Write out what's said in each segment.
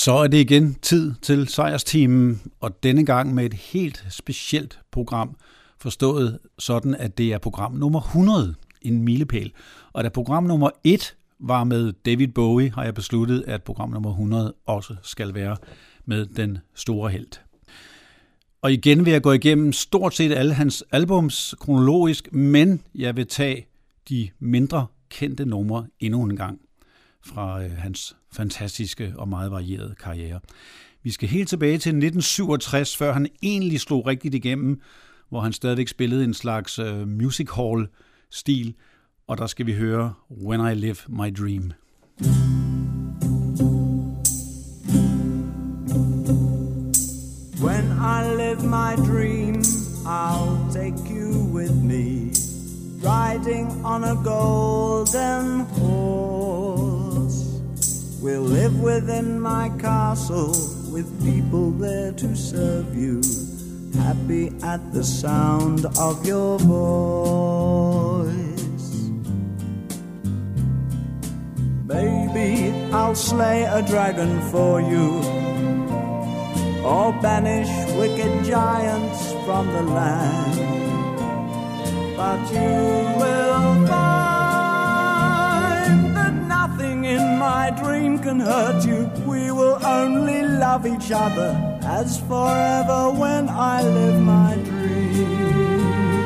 Så er det igen tid til sejrsteamen, og denne gang med et helt specielt program, forstået sådan, at det er program nummer 100, en milepæl. Og da program nummer 1 var med David Bowie, har jeg besluttet, at program nummer 100 også skal være med den store helt. Og igen vil jeg gå igennem stort set alle hans albums kronologisk, men jeg vil tage de mindre kendte numre endnu en gang fra hans fantastiske og meget varierede karriere. Vi skal helt tilbage til 1967, før han egentlig slog rigtigt igennem, hvor han stadigvæk spillede en slags music hall-stil, og der skal vi høre When I Live My Dream. When I live my dream, I'll take you with me, riding on a golden horse. We'll live within my castle, with people there to serve you, happy at the sound of your voice. Baby, I'll slay a dragon for you, or banish wicked giants from the land. But you will find that nothing in my dream can hurt you. We will only love each other as forever when I live my dream.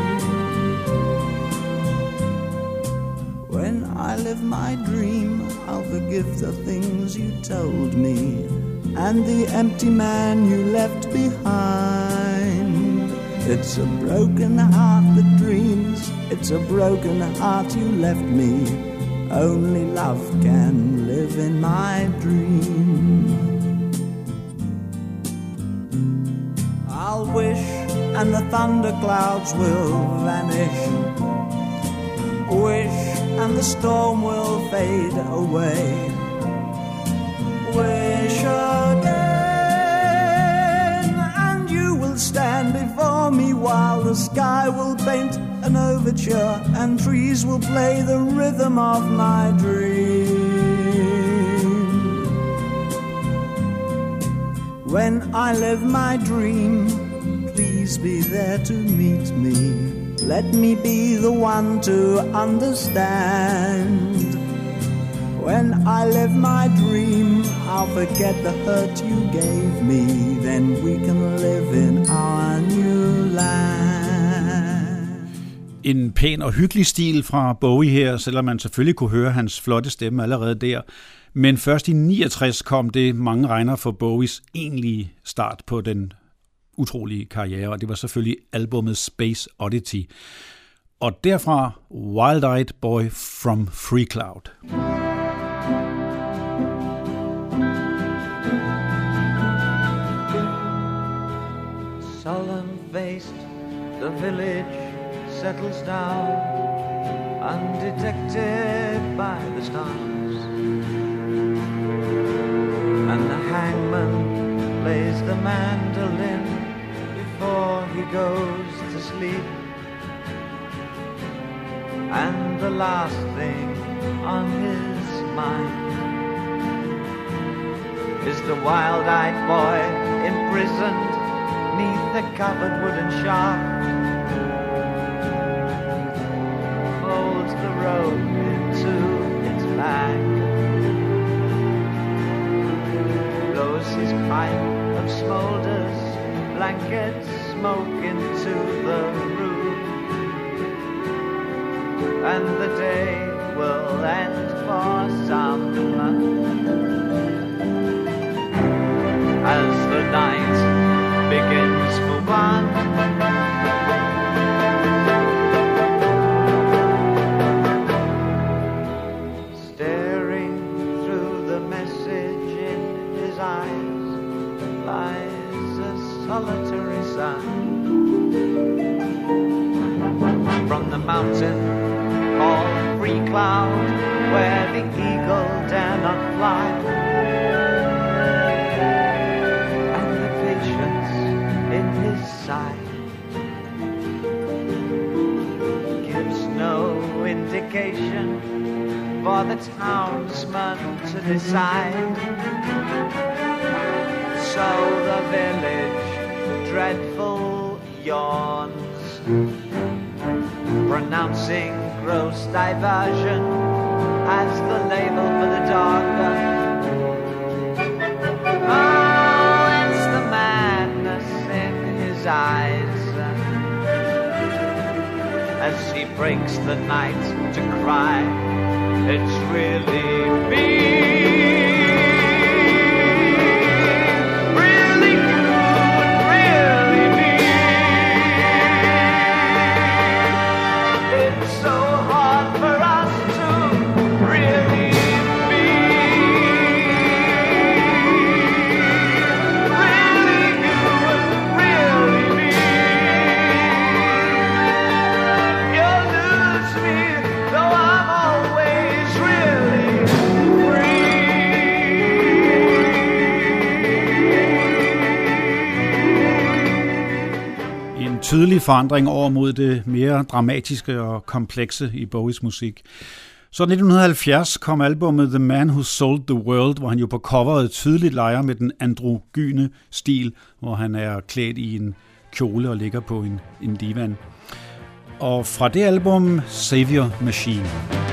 When I live my dream, I'll forgive the things you told me and the empty man you left behind. It's a broken heart that dreams, it's a broken heart you left me. Only love can live in my dream. I'll wish and the thunderclouds will vanish. Wish and the storm will fade away. Wish again, and you will stand before me while the sky will paint an overture and trees will play the rhythm of my dream. When I live my dream, please be there to meet me. Let me be the one to understand. When I live my dream, I'll forget the hurt you gave me. Then we can live in our new land. En pæn og hyggelig stil fra Bowie her, selvom man selvfølgelig kunne høre hans flotte stemme allerede der. Men først i 69 kom det, mange regner for Bowies egentlige start på den utrolige karriere, og det var selvfølgelig albummet Space Oddity. Og derfra Wild-Eyed Boy from Free Cloud. Solemn-faced, the village settles down, undetected by the stars, and the hangman plays the mandolin before he goes to sleep. And the last thing on his mind is the wild-eyed boy imprisoned neath a covered wooden shaft. Folds the rope into its bag, blows his pipe of smoulders, blanket smoke into the room, and the day will end for some as the night begins move on. Staring through the message in his eyes lies a solitary sun from the mountain called Free Cloud, where the eagle dare not fly, and the patience in his sight gives no indication for the townsman to decide. village, dreadful yawns, pronouncing gross diversion as the label for the darker. Oh, it's the madness in his eyes as he breaks the night to cry, it's really me. Really you and really me. It's so hard for us to really be. Really you and really me. You'll lose me, though I'm always really free. En tydelig forandring over mod det mere dramatiske og komplekse i Bowies musik. Så 1970 kom albumet The Man Who Sold the World, hvor han jo på coveret tydeligt leger med den androgyne stil, hvor han er klædt i en kjole og ligger på en divan. Og fra det album, Savior Machine.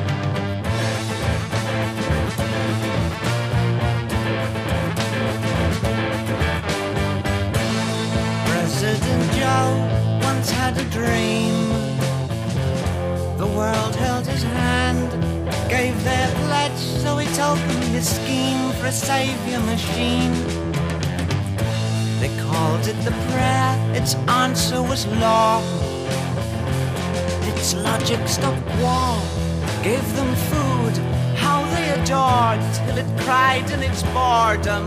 President Joe once had a dream. The world held his hand, gave their pledge, so he told them his scheme for a savior machine. They called it the prayer, its answer was law. Its logic stopped war, gave them food, how they adored, till it cried in its boredom.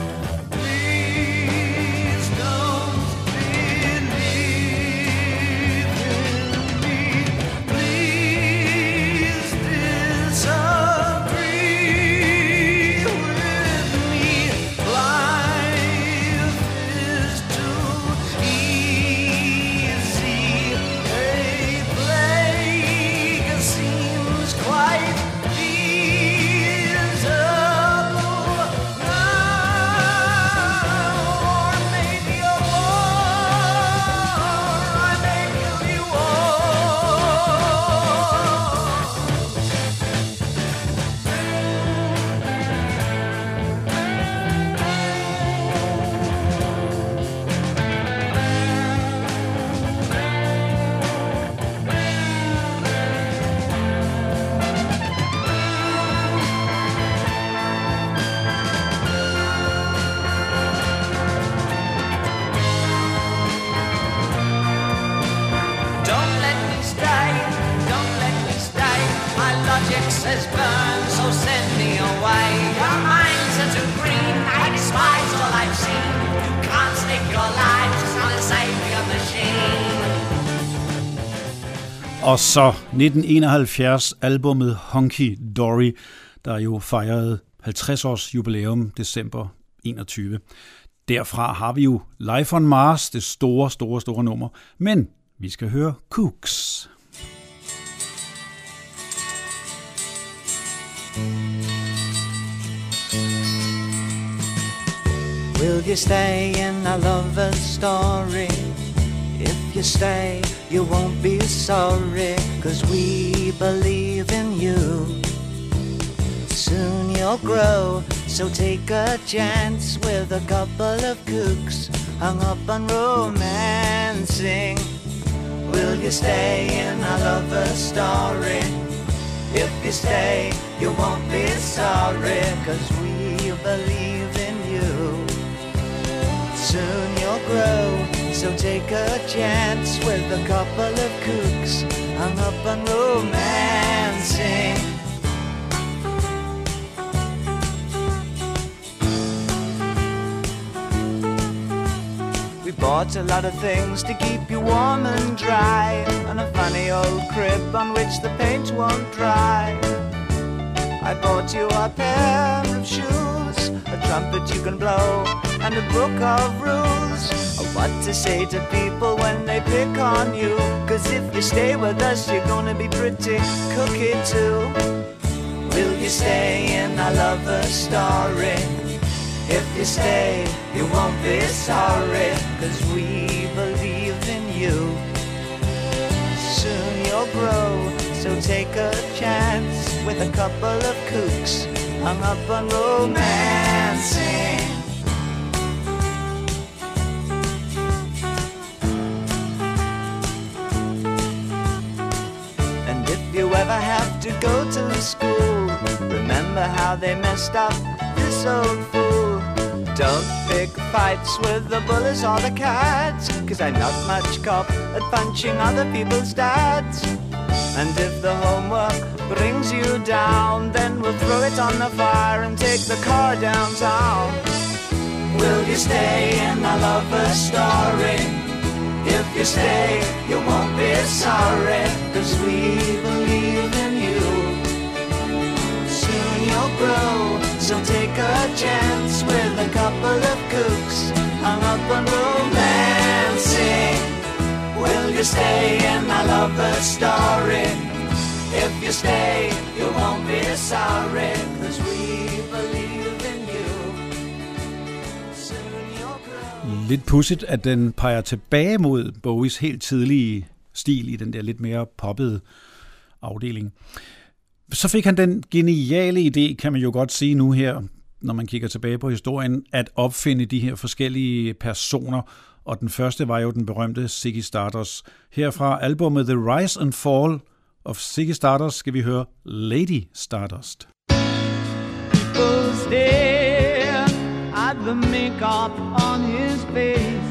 Please don't believe in me. Please disagree with me. Life is too easy. A plague seems quite feasible now. Or maybe a war, or maybe a war. Don't let me stay, don't let me stay. My logic says burn, so send me away. Your minds are too green, I despise all I've seen. You can't stake your lives on a savior machine. Og så 1971 albumet Hunky Dory, der jo fejrede 50 års jubilæum december 21. Derfra har vi jo Life on Mars, det store nummer. Men vi skal høre Kooks. Will you stay in a lover's story? If you stay, you won't be sorry, 'cause we believe in you. Soon you'll grow, so take a chance with a couple of kooks hung up on romancing. Will you stay in a lover's story? If you stay, you won't be sorry, 'cause we believe in you. Soon you'll grow, so take a chance with a couple of kooks hung up on romancing. We bought a lot of things to keep you warm and dry, and a funny old crib on which the paint won't dry. I bought you a pair of shoes, a trumpet you can blow, and a book of rules of what to say to people when they pick on you. 'Cause if you stay with us, you're gonna be pretty cookie too. Will you stay in a lover's story? If you you stay? You won't be sorry, 'cause we believe in you. Soon you'll grow, so take a chance with a couple of kooks hung up on romancing. And if you ever have to go to school, remember how they messed up this old fool. Don't pick fights with the bullies or the cats, 'cause I'm not much cop at punching other people's dads. And if the homework brings you down, then we'll throw it on the fire and take the car downtown. Will you stay in my lover's story? If you stay, you won't be sorry, 'cause we believe in you. Soon you'll grow, so take a chance with a couple of kooks hung up on romancing. Will you stay in my lover's story? If you stay, you won't be sorry, 'cause we believe in you. Soon you'll grow. Lidt pudsigt, at den peger tilbage mod Bowies helt tidlige stil i den der lidt mere poppede afdeling. Så fik han den geniale idé, kan man jo godt sige nu her, når man kigger tilbage på historien, at opfinde de her forskellige personer, og den første var jo den berømte Ziggy Stardust. Her fra albumet The Rise and Fall of Ziggy Stardust skal vi høre Lady Stardust. People stare at the makeup on his face,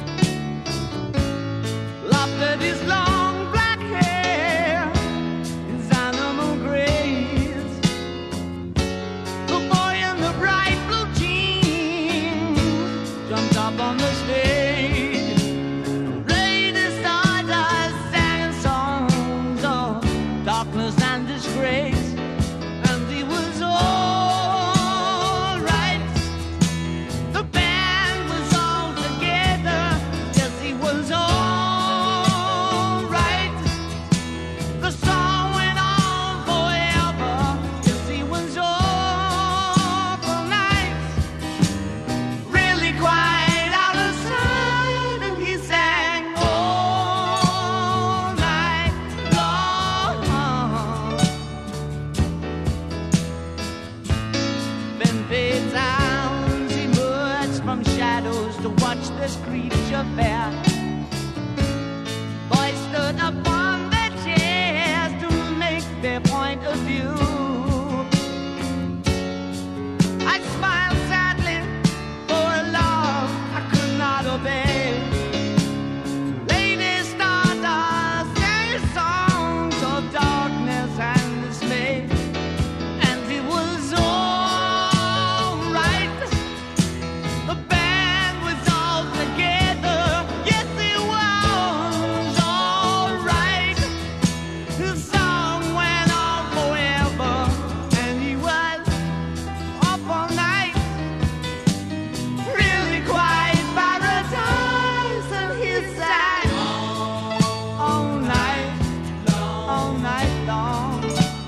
laughed at his long black hair, his animal grace. The boy in the bright blue jeans jumped up on the stage. Lady Stardust sang songs of darkness and disgrace, and he was all right. The band was all together, yes, he was all right. The song went on forever, yes, he was all night. Really quite out of sight, and he sang all night long. Then fades sounds emerged from shadows to watch this creature fair. Boys stood upon their chairs to make their point of view. I smiled sadly for a love I could not obey. Lady Stardust sang songs of darkness and dismay, and he was all right. The band was all together, yes, he was all right. His song went on forever, and he was up all night. Really quite paradise, and he sang all night long.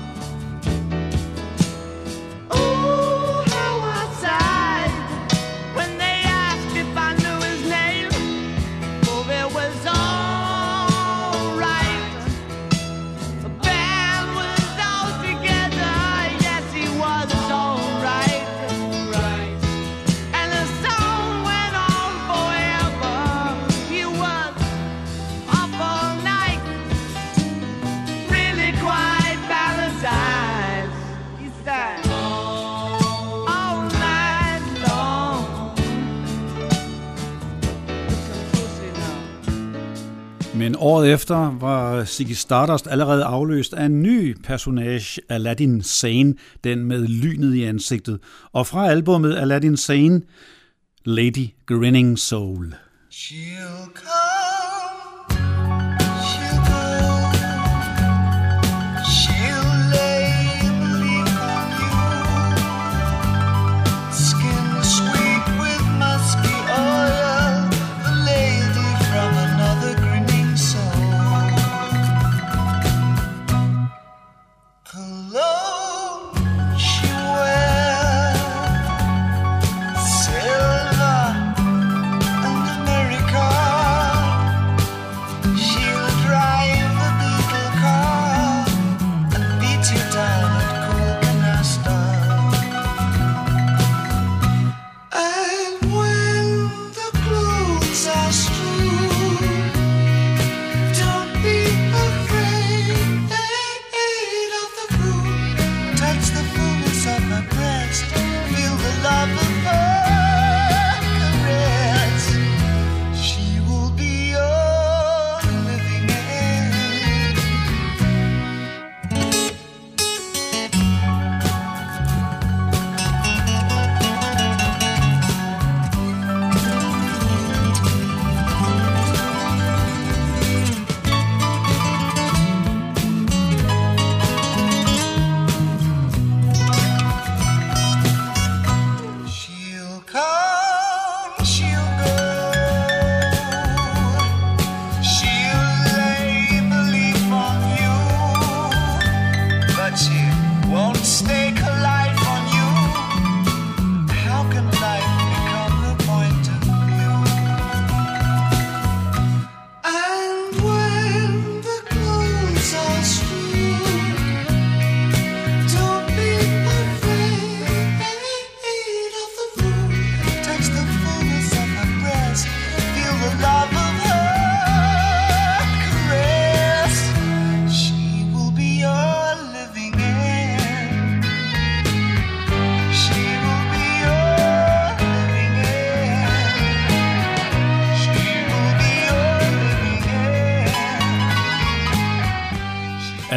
Ooh, how I sighed when they asked if I knew his name. Oh, it was all right. The band was all together, yes, he was all right. And the song went on forever. He was up all night. Really quite paradise. He sang all night long. Looking pussy now. Men året efter var Ziggy Stardust allerede afløst af en ny personage, Aladdin Sane, den med lynet i ansigtet. Og fra albumet Aladdin Sane, Lady Grinning Soul. She'll come, she'll go, she'll lay bleak on you, skin sweet with musky oil, the lady from another grinning soul. Cologne she wears,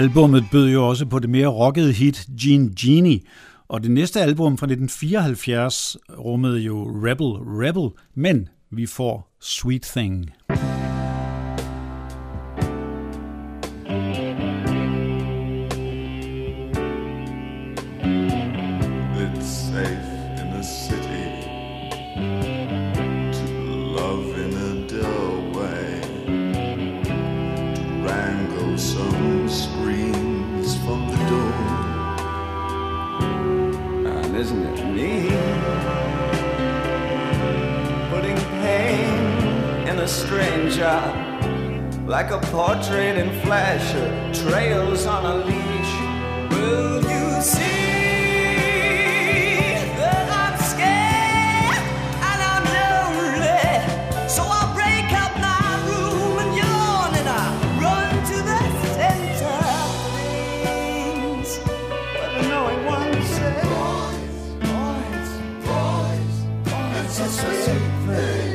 Albummet bød jo også på det mere rockede hit Gene Genie, og det næste album fra 1974 rummede jo Rebel Rebel, men vi får Sweet Thing. Isn't it neat? Putting pain in a stranger, like a portrait in flesh, trails on a leash. Will you see that I'm scared and I'm lonely? So I'll break up my room and yawn and I run to the center of things. But the knowing one says, it's a sweet thing.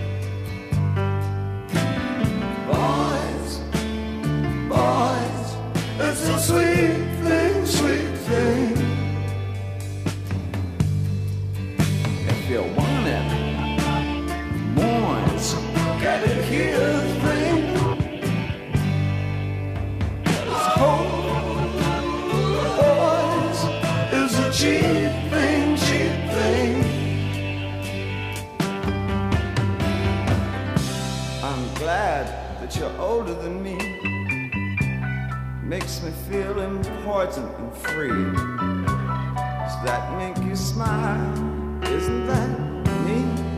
Boys, boys, it's a sweet thing, sweet thing. If you want it, boys, get it here, thing. It's hope, boys, it's a cheap thing, cheap thing. Glad that you're older than me. Makes me feel important and free. Does that make you smile? Isn't that me?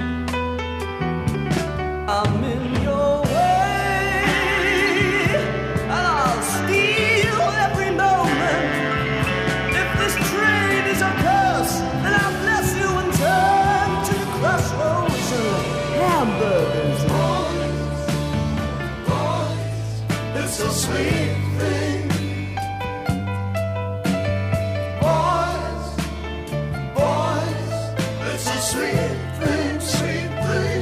I'm in your way and I'll steal every moment. If this trade is a curse, then I'll bless you and turn to the crossroads of hamburgers. It's a sweet thing. Boys, boys, it's a sweet thing, sweet thing.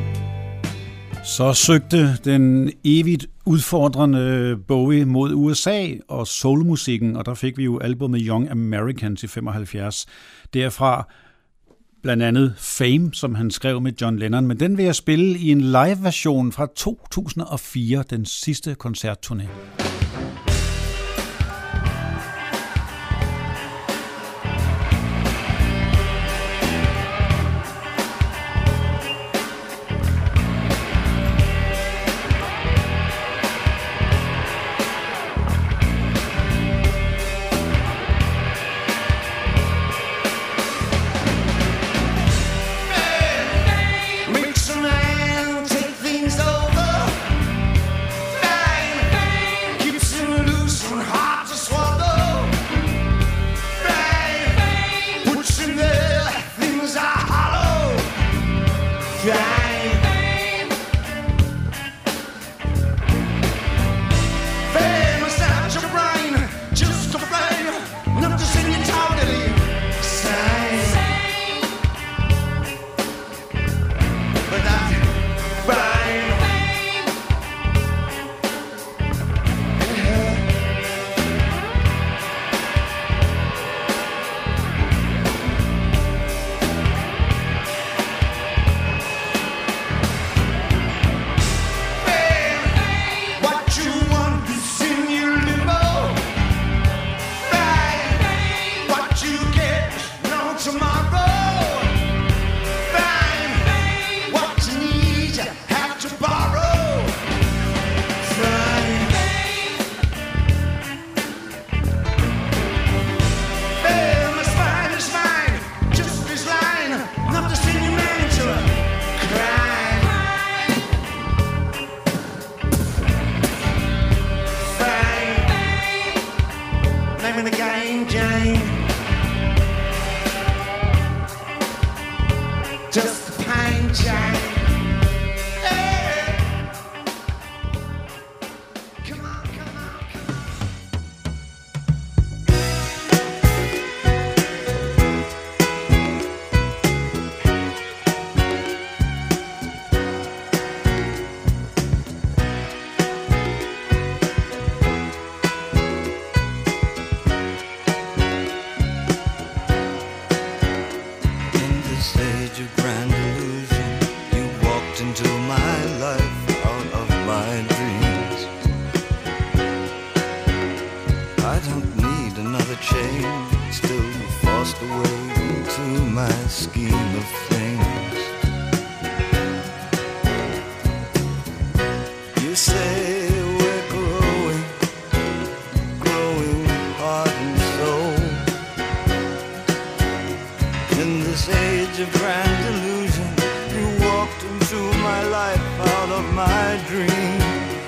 Så søgte den evigt udfordrende Bowie mod USA og soulmusikken, og der fik vi jo albumet Young Americans i 75. Derfra blandt andet Fame, som han skrev med John Lennon, men den vil jeg spille i en live-version fra 2004, den sidste koncertturné. grand illusion. You walked into my life out of my dreams. I don't need another chain, still forced away into my scheme of things. You say we're growing heart and soul. In this age of grand illusion, you walked into my life out of my dreams.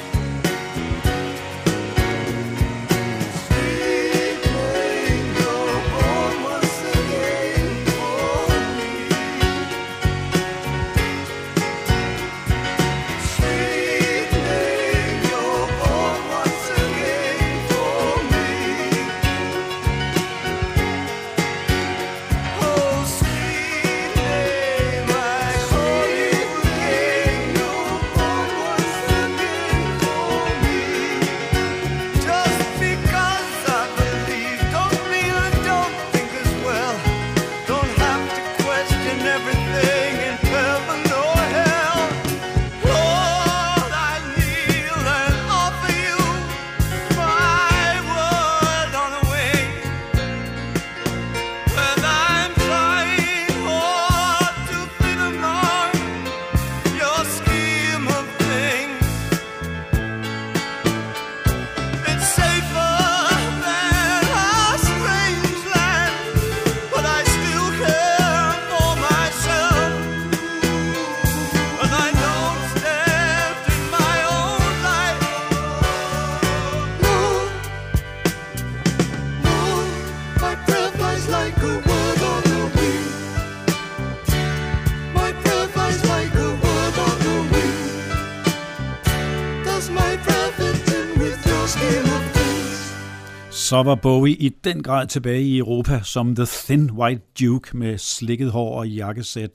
Så var Bowie i den grad tilbage i Europa som The Thin White Duke med slikket hår og jakkesæt.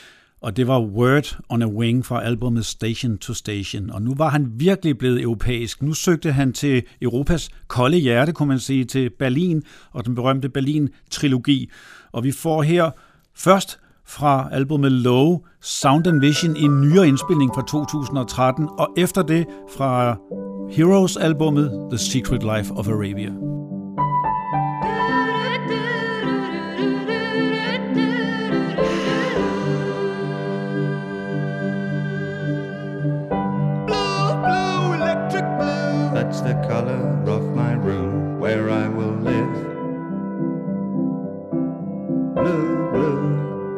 Og det var Word on a Wing fra albumet Station to Station. Og nu var han virkelig blevet europæisk. Nu søgte han til Europas kolde hjerte, kunne man sige, til Berlin og den berømte Berlin-trilogi. Og vi får her først fra albumet Low, Sound and Vision i en nyere indspilning fra 2013, og efter det fra Heroes-albummet The Secret Life of Arabia. That's the color of my room where I will live. Blue, blue.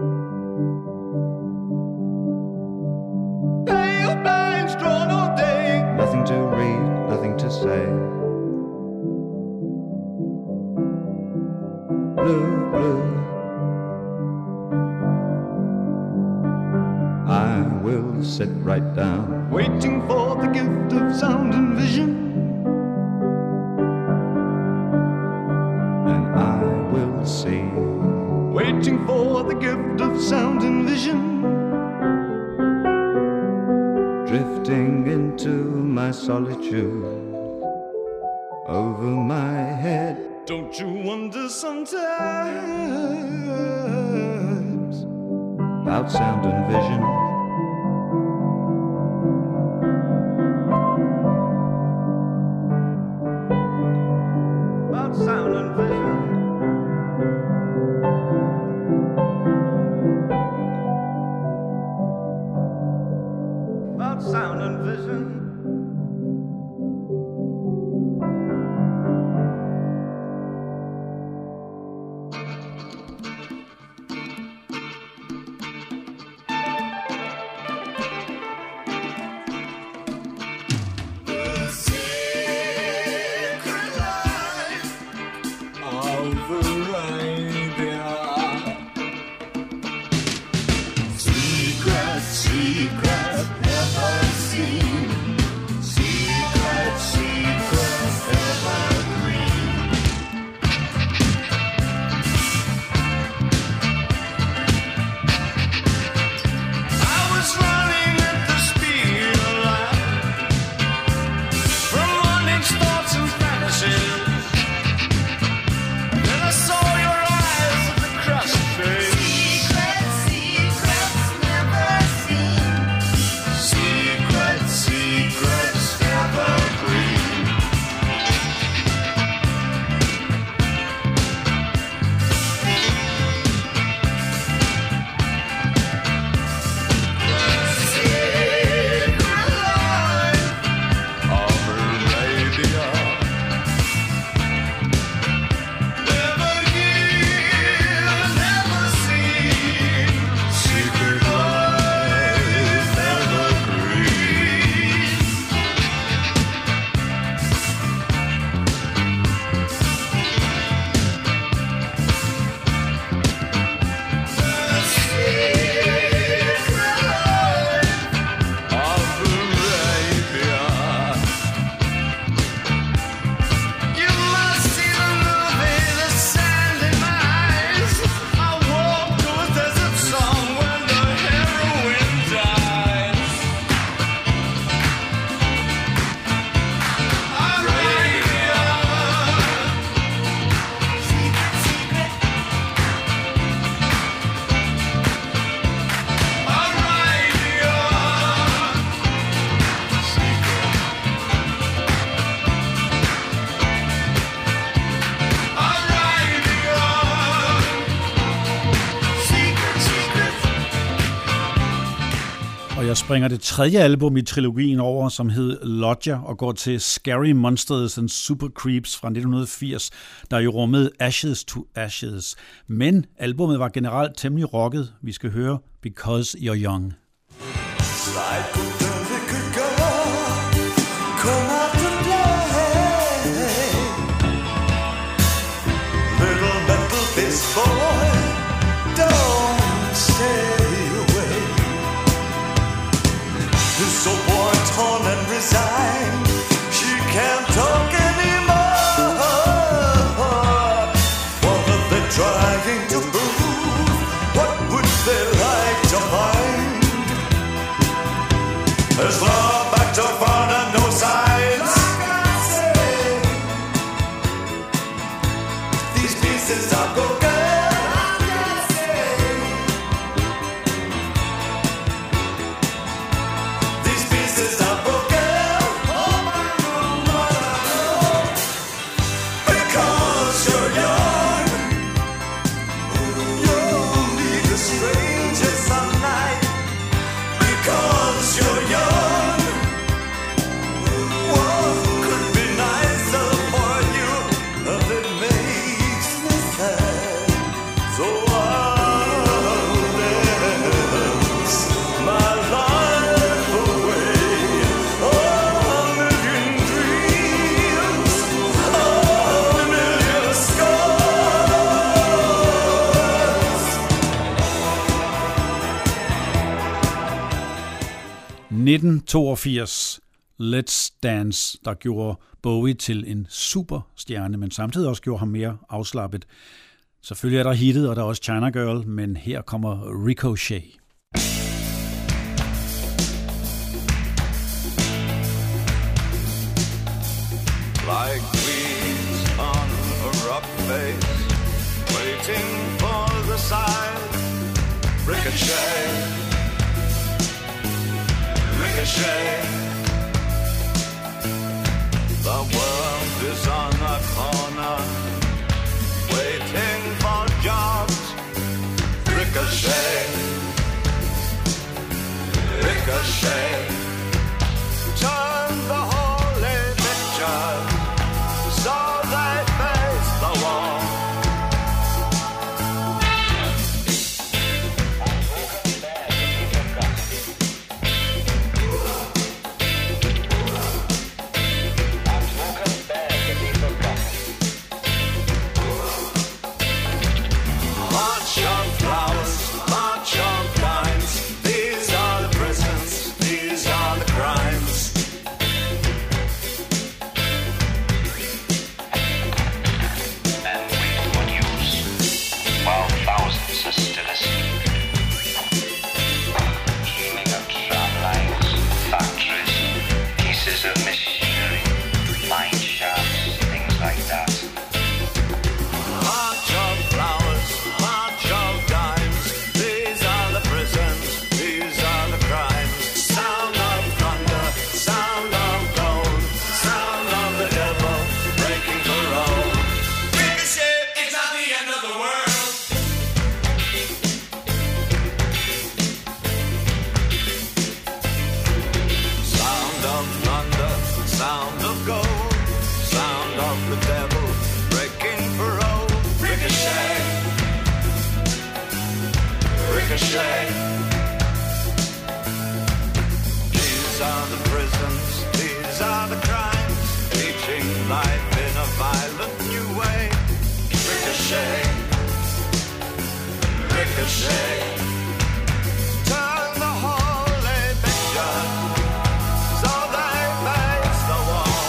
Pale blinds drawn all day. Nothing to read, nothing to say. Blue, blue. I will sit right down, waiting for the gift of sound and vision. See, waiting for the gift of sound and vision, drifting into my solitude over my head. Don't you wonder sometimes about sound and vision? About sound and vision. Sound and vision. The secret life of Arabia. Secret, secret. Never seen Og jeg springer det tredje album i trilogien over, som hed Lodger, og går til Scary Monsters and Super Creeps fra 1980, der jo rummede Ashes to Ashes. Men albummet var generelt temmelig rocket. Vi skal høre Because You're Young. Little metal fist boy, don't stay away. This old boy torn and resigned, she can't talk anymore. What are they trying to prove? What would they like to find? There's love back to front and no signs. These pieces are broken. These pieces are broken. Because you're young, you'll meet the strangers some night. Because you're young, what could be nicer for you than makes me sad? So I'll dance my life away. A million dreams, a million scars. 1982, Let's Dance, der gjorde Bowie til en superstjerne, men samtidig også gjorde ham mere afslappet. Selvfølgelig er der hittet, og der er også China Girl, men her kommer Ricochet. Like weeds on a rock face, waiting for the sign. Ricochet, ricochet. The world is on a corner, waiting for jobs. Ricochet, ricochet. Turn the holy picture so they face the wall. March of flowers, march of dimes. These are the prisons, these are the crimes. And with what use, while thousands are still asleep? Dreaming of tramlines, factories, pieces of machinery, mine shafts, things like that. March of flowers, march of dimes. These are the prisons, these are the crimes. Sound of thunder, sound of gold, sound of the devil breaking parole. Ricochet, it's not the end of the world. Sound of thunder, sound of gold, sound of the devil breaking parole. Ricochet, ricochet. These are the prisons, these are the crimes, teaching life in a violent new way. Ricochet, ricochet. Turn the holy picture so they face the wall.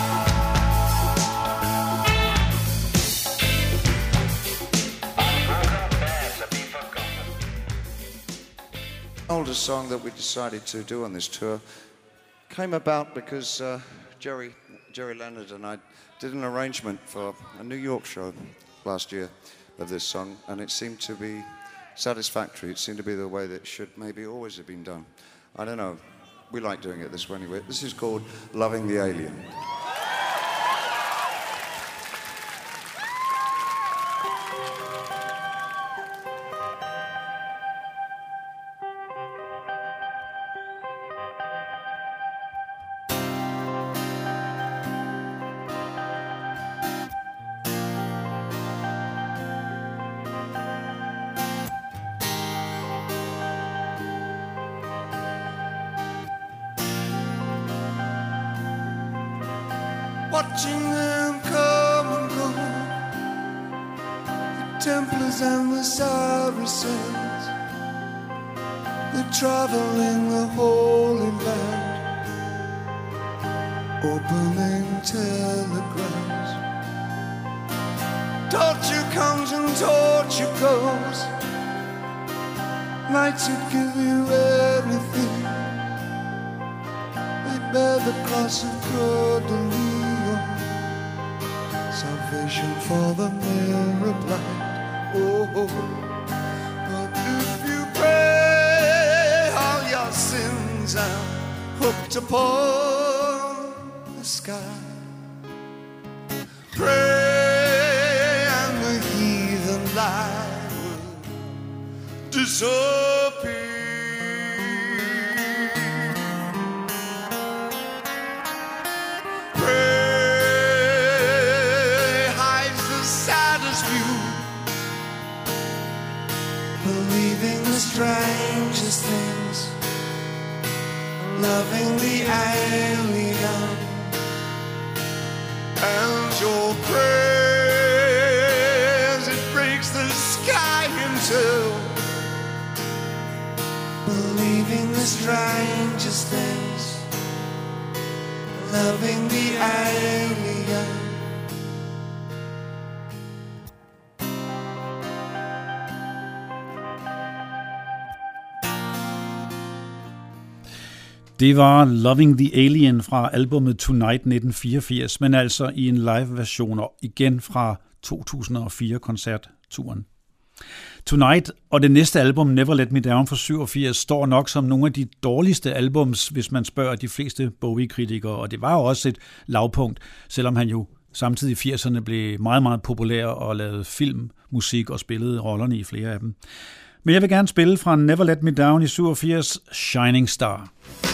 Oldest song that we decided to do on this tour came about because Jerry Leonard and I did an arrangement for a New York show last year of this song, and it seemed to be satisfactory. It seemed to be the way that it should maybe always have been done. I don't know. We like doing it this way anyway. This is called Loving the Alien. watching them come and go, the Templars and the Saracens, they're traveling the Holy Land, opening telegrams. Torture comes and torture goes, knights who give you everything, they bear the cross of Coeur de Lion, salvation for the mirror blind. Oh, but if you pray, all your sins are hooked upon the sky. Pray and the heathen lie will disappear. Pray hides the saddest view, believing the strangest things, loving the alien, and your prayers, it breaks the sky in two, believing the strangest things, loving the alien. Det var Loving the Alien fra albumet Tonight 1984, men altså i en live-version og igen fra 2004-koncertturen. Tonight og det næste album, Never Let Me Down fra 87, står nok som nogle af de dårligste albums, hvis man spørger de fleste Bowie-kritikere, og det var jo også et lavpunkt, selvom han jo samtidig i 80'erne blev meget, meget populær og lavede film, musik og spillede rollerne i flere af dem. Men jeg vil gerne spille fra Never Let Me Down i 87, Shining Star.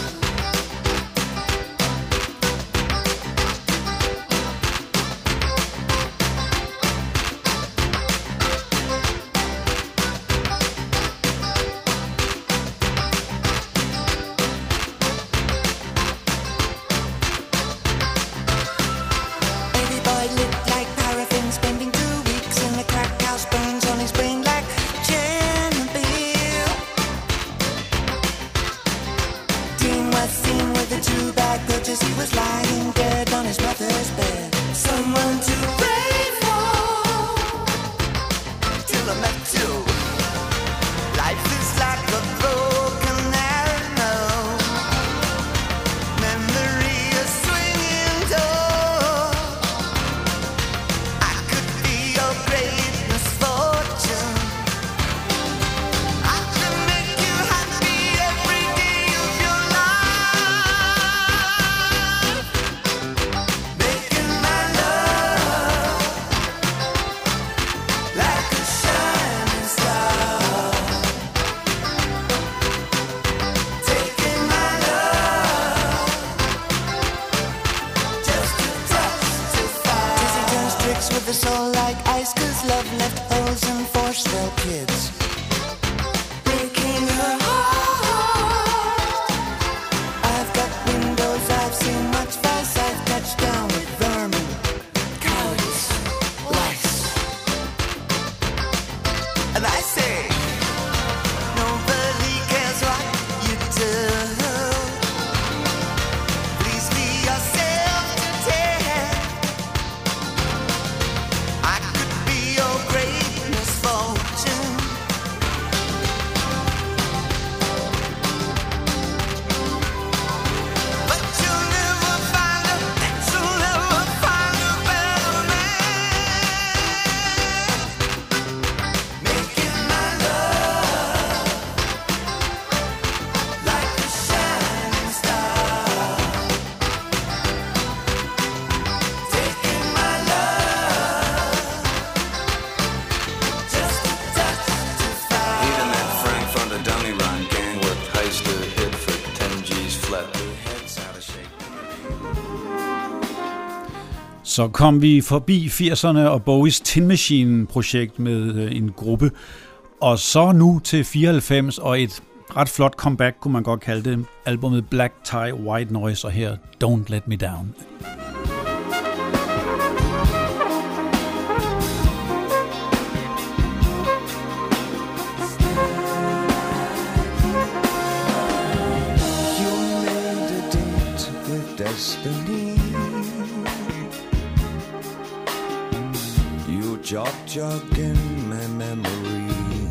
Så kom vi forbi 80'erne og Bowies Tin Machine-projekt med en gruppe, og så nu til 94 og et ret flot comeback, kunne man godt kalde det, albumet Black Tie White Noise, og her Don't Let Me Down. destiny. You jog in my memory.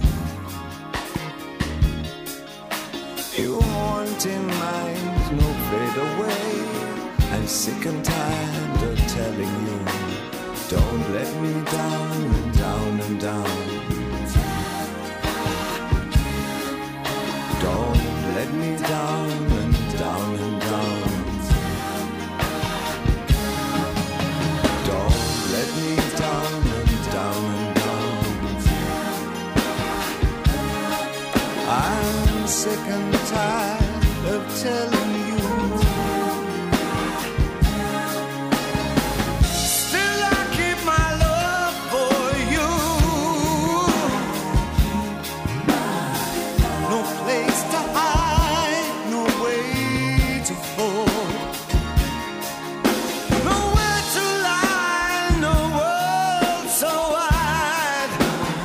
You haunting mind, no fade away. I'm sick and tired of telling you, don't let me down and down and down. Don't let me down and down and down. Don't let me down and down and down. I'm sick and tired of telling you. Still I keep my love for you. No place to hide, no way to fall, nowhere to lie, no world so wide.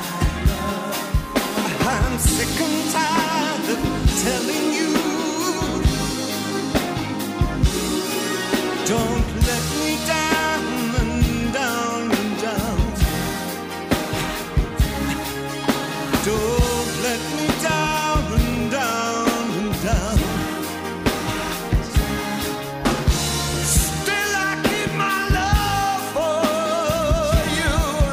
I'm sick and tired of telling you, don't let me down and down and down. Don't let me down and down and down. Still I keep my love for you.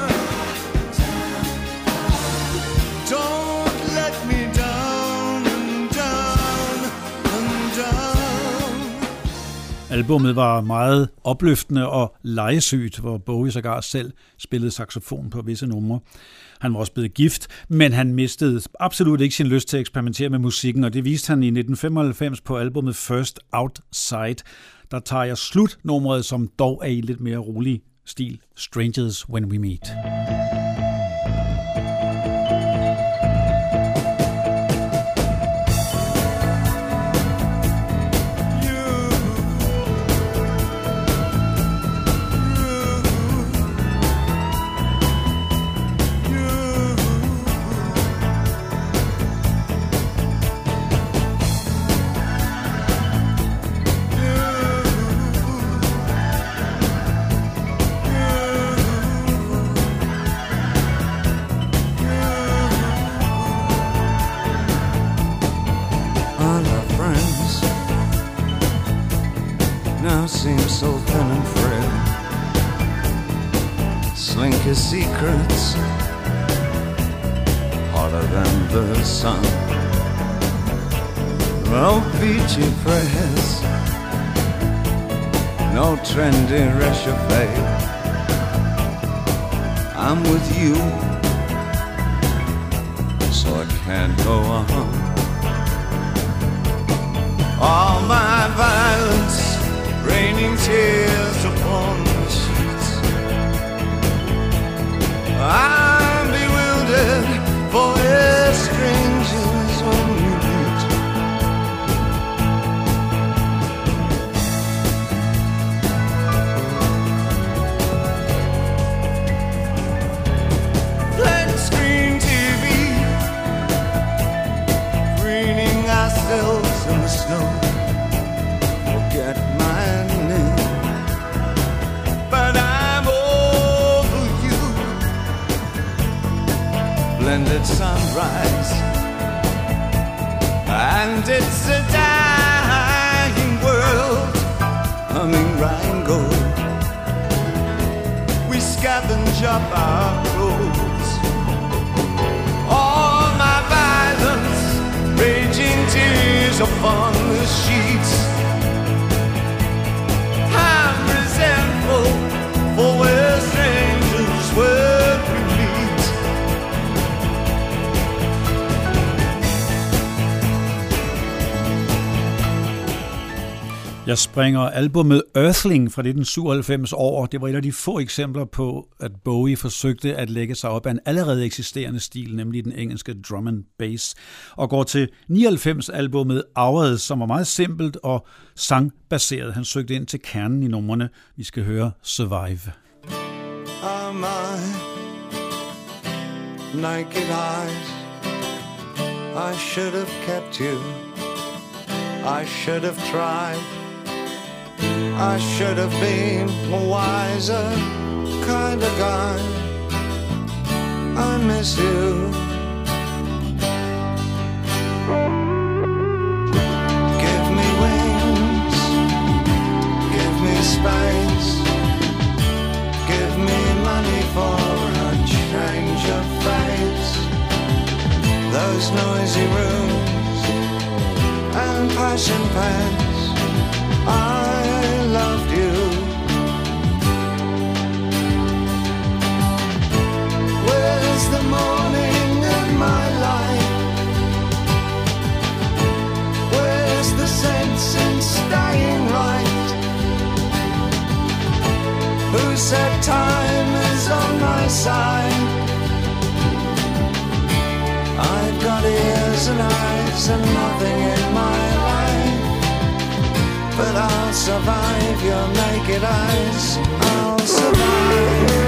Don't let me down and down and down. Albummet var meget opløftende og legesygt, hvor Bowie sågar selv spillede saxofon på visse numre. Han var også blevet gift, men han mistede absolut ikke sin lyst til at eksperimentere med musikken, og det viste han i 1995 på albummet First Outside. Der tager jeg slutnummeret, som dog er i lidt mere rolig stil, Strangers When We Meet. Now seems so thin and frail. Slink his secrets harder than the sun. No peachy prayers, no trendy réchauffé. I'm with you, so I can't go on. All my violence, raining tears upon the sheets. I'm bewildered, for we're strangers when we meet. Flat screen TV, preening ourselves in the snow. Forget my name, but I'm over you. Blended sunrise, and it's a dying world, humming Rheingold. We scavenge up our clothes. All my violence, raging tears upon the sheets. I'm resentful, for we're strangers when we meet. Jeg springer albumet Earthling fra 1997 over. Det var et af de få eksempler på, at Bowie forsøgte at lægge sig op af en allerede eksisterende stil, nemlig den engelske drum and bass, og går til 99-albummet Hours, som var meget simpelt og sangbaseret. Han søgte ind til kernen i numrene. Vi skal høre Survive. Are my naked eyes, I should have kept you, I should have tried I should have been a wiser kind of guy. I miss you. Give me wings, give me space, give me money for a change of face. Those noisy rooms and passion pants, I loved you. Where's the morning in my life? Where's the sense in staying right? Who said time is on my side? I've got ears and eyes and nothing in my life, but I'll survive your naked eyes. I'll survive.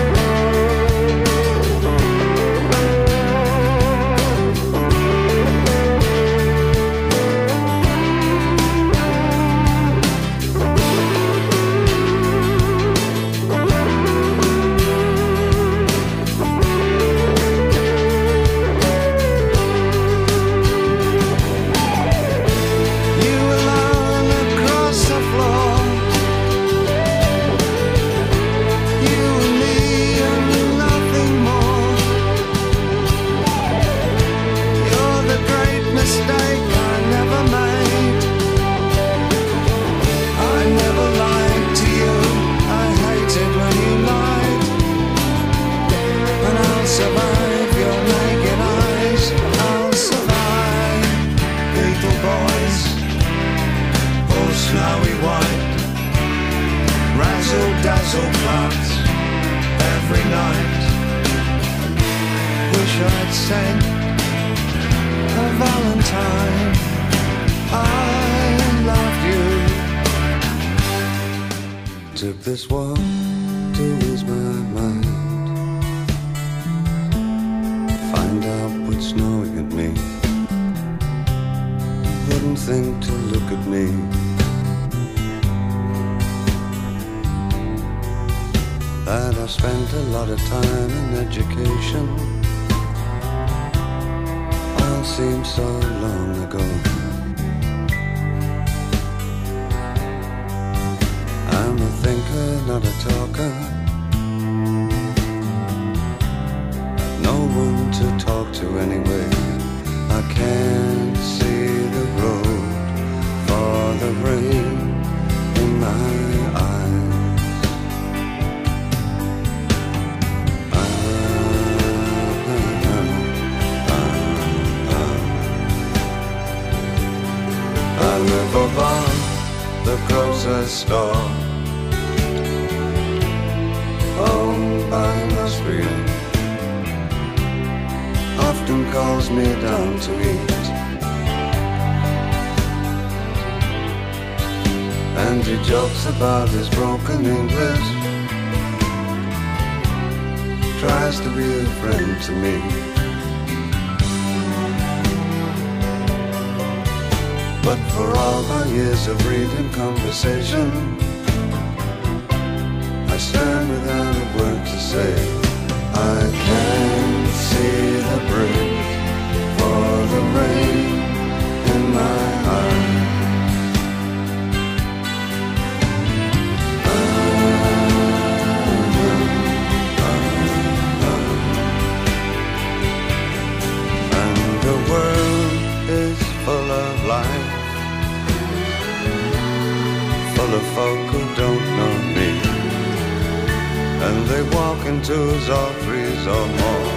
Dazzle clubs every night. Wish I'd sent a Valentine. I loved you. Took this walk to ease my mind, find out what's snowing at me. Wouldn't think to look at me. That I spent a lot of time in education. All seems so long ago. I'm a thinker, not a talker. No one to talk to anyway. I can't see the road for the rain in my eyes. I live above the grocer's store, owned by an Austrian. Often calls me down to eat, and he jokes about his broken English. Tries to be a friend to me. But for all my years of reading conversation, I stand without a word to say. I can't see the bridge for the rain in my eyes. And the world is full of life, full of folk who don't know me, and they walk in twos or threes or more.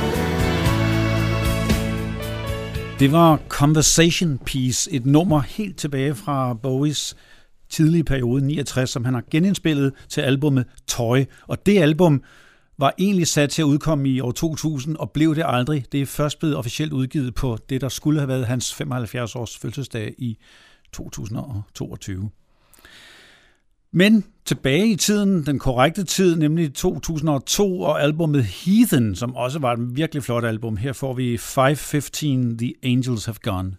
Det var Conversation Piece, et nummer helt tilbage fra Bowies tidlige periode, 69, som han har genindspillet til albumet Toy. Og det album var egentlig sat til at udkomme i år 2000, og blev det aldrig. Det er først blevet officielt udgivet på det, der skulle have været hans 75 års fødselsdag i 2022. Men tilbage i tiden, den korrekte tid, nemlig 2002, og albumet Heathen, som også var et virkelig flot album. Her får vi 5:15, The Angels Have Gone.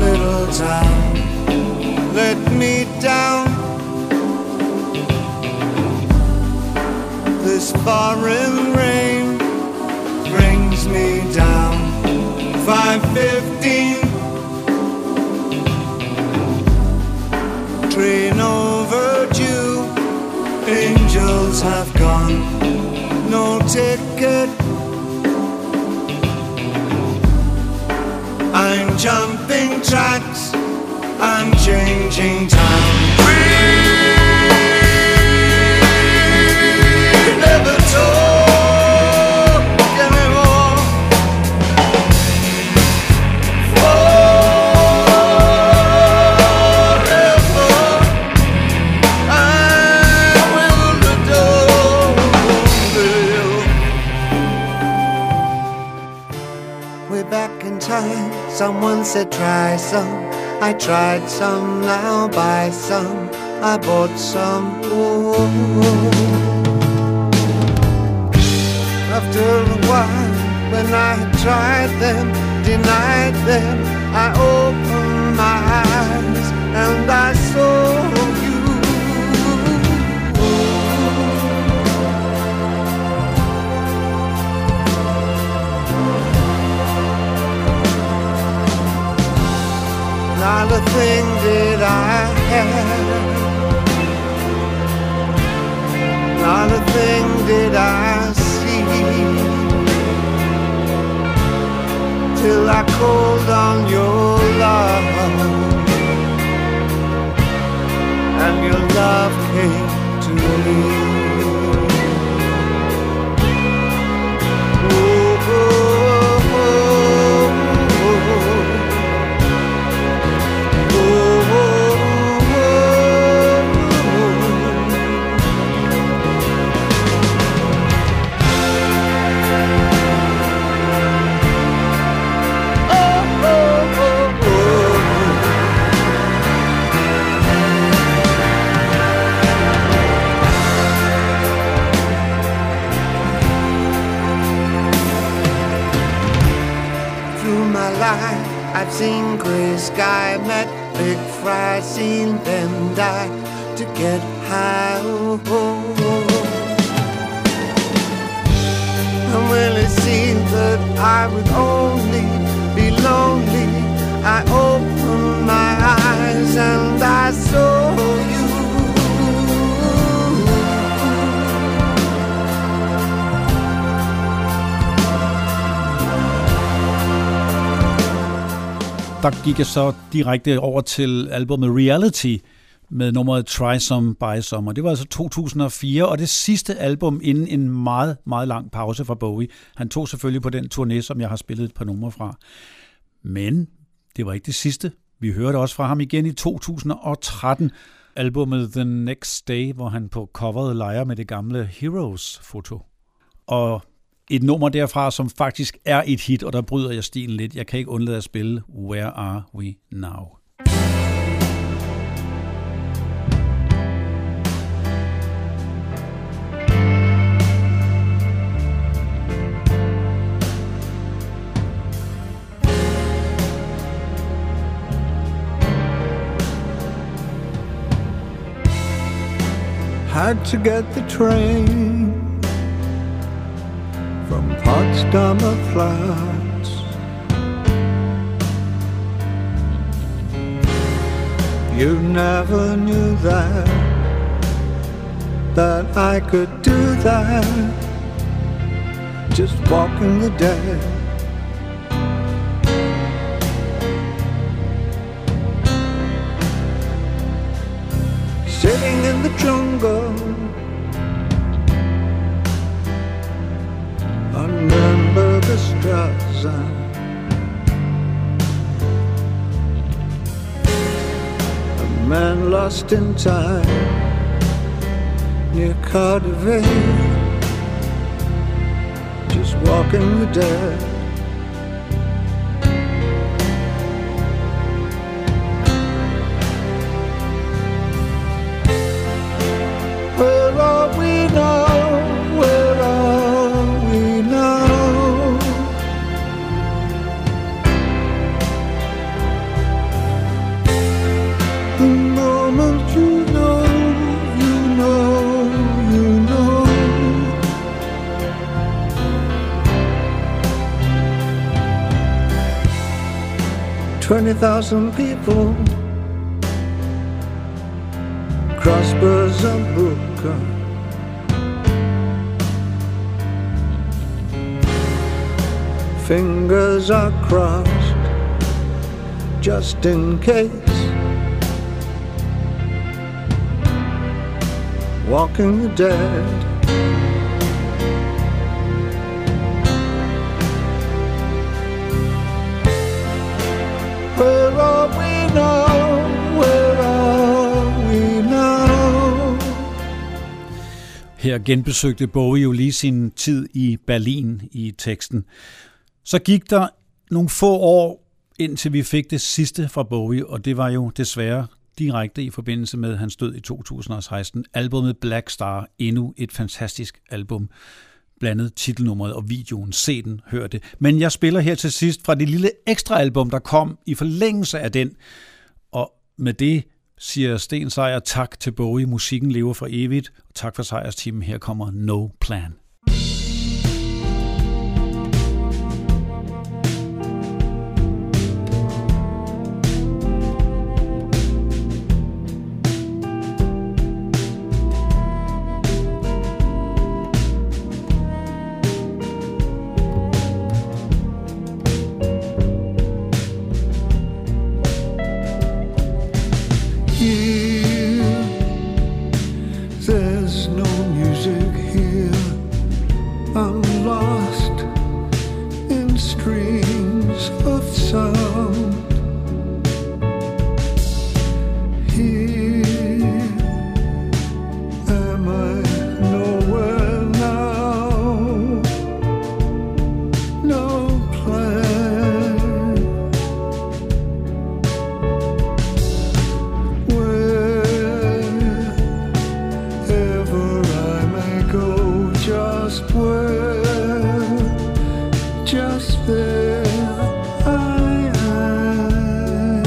little town let me down. This foreign rain brings me down. 5:15, train overdue. Angels have gone, no ticket. I'm jumping tracks, I'm changing town. We never talk anymore. Forever I will adore you. Way back in time, someone said try some. I tried some, now buy some. I bought some. Ooh. After a while, when I had tried them, denied them, I opened my eyes and I saw you. Not a thing did I have, not a thing did I see, till I called on your love, and your love came to me. Oh, oh, oh, I've seen grey sky, met big fry, seen them die to get high. Oh, oh, oh. And when it seemed that I would only be lonely, I opened my eyes and I saw you. Der gik jeg så direkte over til albumet Reality med nummeret Try Some, Buy Some. Og det var altså 2004, og det sidste album inden en meget, meget lang pause fra Bowie. Han tog selvfølgelig på den turné, som jeg har spillet et par numre fra. Men det var ikke det sidste. Vi hørte også fra ham igen i 2013, albumet The Next Day, hvor han på coveret leger med det gamle Heroes-foto. Og et nummer derfra, som faktisk er et hit, og der bryder jeg stilen lidt. Jeg kan ikke undlade at spille Where Are We Now? Had to get the train from Potsdamer Platz. You never knew that I could do that, just walking the dead. Sitting in the jungle on Nürnberger Straße, a man lost in time near Cardiff, just walking the dead. Where are we now? Where are we now? 20,000 people crossbars are broken. Fingers are crossed just in case. Walking the dead. Where are we now? Where are we now? Her genbesøgte Bowie jo lige sin tid i Berlin i teksten. Så gik der nogle få år, indtil vi fik det sidste fra Bowie, og det var jo desværre direkte i forbindelse med hans død i 2016. Albummet Black Star, endnu et fantastisk album. Blandet titelnummeret og videoen. Se den, hør det. Men jeg spiller her til sidst fra det lille ekstra album, der kom i forlængelse af den. Og med det siger Sten Sejer tak til Bowie. Musikken lever for evigt. Og tak for Sejrsteamen. Her kommer No Plan. There's no music here. I'm lost in streams of sound. Here am I nowhere now. No plan. Just where, just there I am.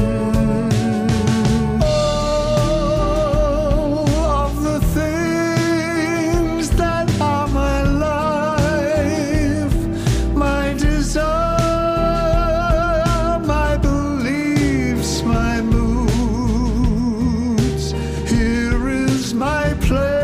Oh, of the things that are my life, my desire, my beliefs, my moods. Here is my place.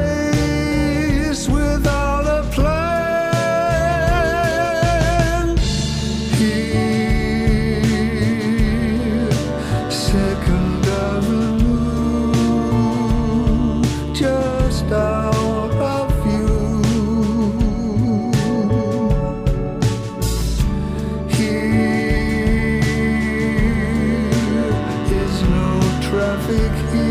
Traffic here.